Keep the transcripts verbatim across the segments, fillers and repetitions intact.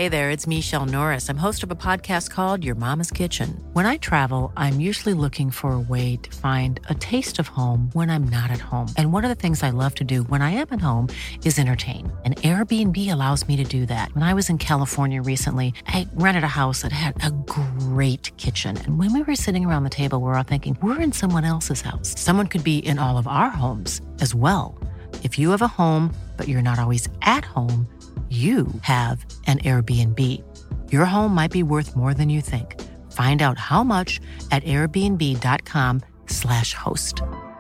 Hey there, it's Michelle Norris. I'm host of a podcast called Your Mama's Kitchen. When I travel, I'm usually looking for a way to find a taste of home when I'm not at home. And one of the things I love to do when I am at home is entertain. And Airbnb allows me to do that. When I was in California recently, I rented a house that had a great kitchen. And when we were sitting around the table, we were all thinking, we're in someone else's house. Someone could be in all of our homes as well. If you have a home, but you're not always at home, you have an Airbnb. Your home might be worth more than you think. Find out how much at airbnb.com slash host.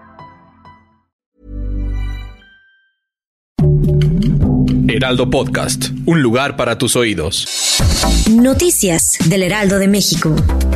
Heraldo Podcast, un lugar para tus oídos. Noticias del Heraldo de México.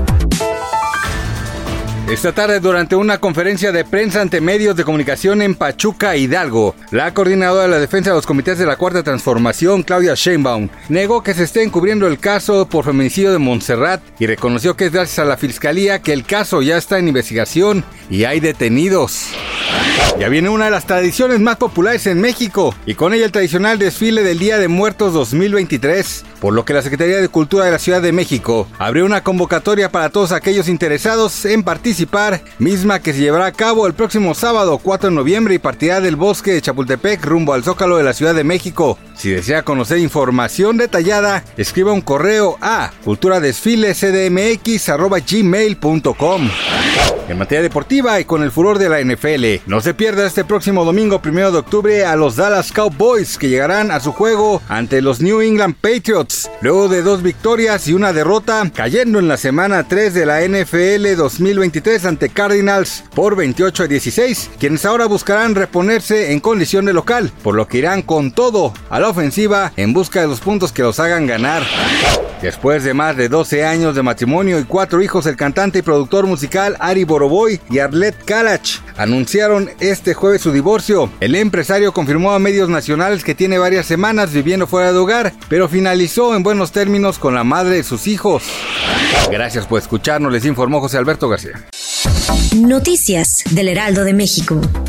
Esta tarde, durante una conferencia de prensa ante medios de comunicación en Pachuca, Hidalgo, la coordinadora de la defensa de los comités de la Cuarta Transformación, Claudia Sheinbaum, negó que se esté encubriendo el caso por feminicidio de Montserrat y reconoció que es gracias a la Fiscalía que el caso ya está en investigación y hay detenidos. Ya viene una de las tradiciones más populares en México y con ella el tradicional desfile del Día de Muertos dos mil veintitrés, por lo que la Secretaría de Cultura de la Ciudad de México abrió una convocatoria para todos aquellos interesados en participar, misma que se llevará a cabo el próximo sábado cuatro de noviembre y partirá del Bosque de Chapultepec rumbo al Zócalo de la Ciudad de México. Si desea conocer información detallada, escriba un correo a culturadesfilecdmx arroba gmail punto com. En materia deportiva y con el furor de la N F L, no se pierda este próximo domingo primero de octubre a los Dallas Cowboys, que llegarán a su juego ante los New England Patriots, luego de dos victorias y una derrota, cayendo en la semana tres de la N F L dos mil veintitrés ante Cardinals por veintiocho a dieciséis, quienes ahora buscarán reponerse en condición de local, por lo que irán con todo a la ofensiva en busca de los puntos que los hagan ganar. Después de más de doce años de matrimonio y cuatro hijos, el cantante y productor musical Ari Boroboy y Arlette Kalach anunciaron este jueves su divorcio. El empresario confirmó a medios nacionales que tiene varias semanas viviendo fuera de hogar, pero finalizó en buenos términos con la madre de sus hijos. Gracias por escucharnos, les informó José Alberto García. Noticias del Heraldo de México.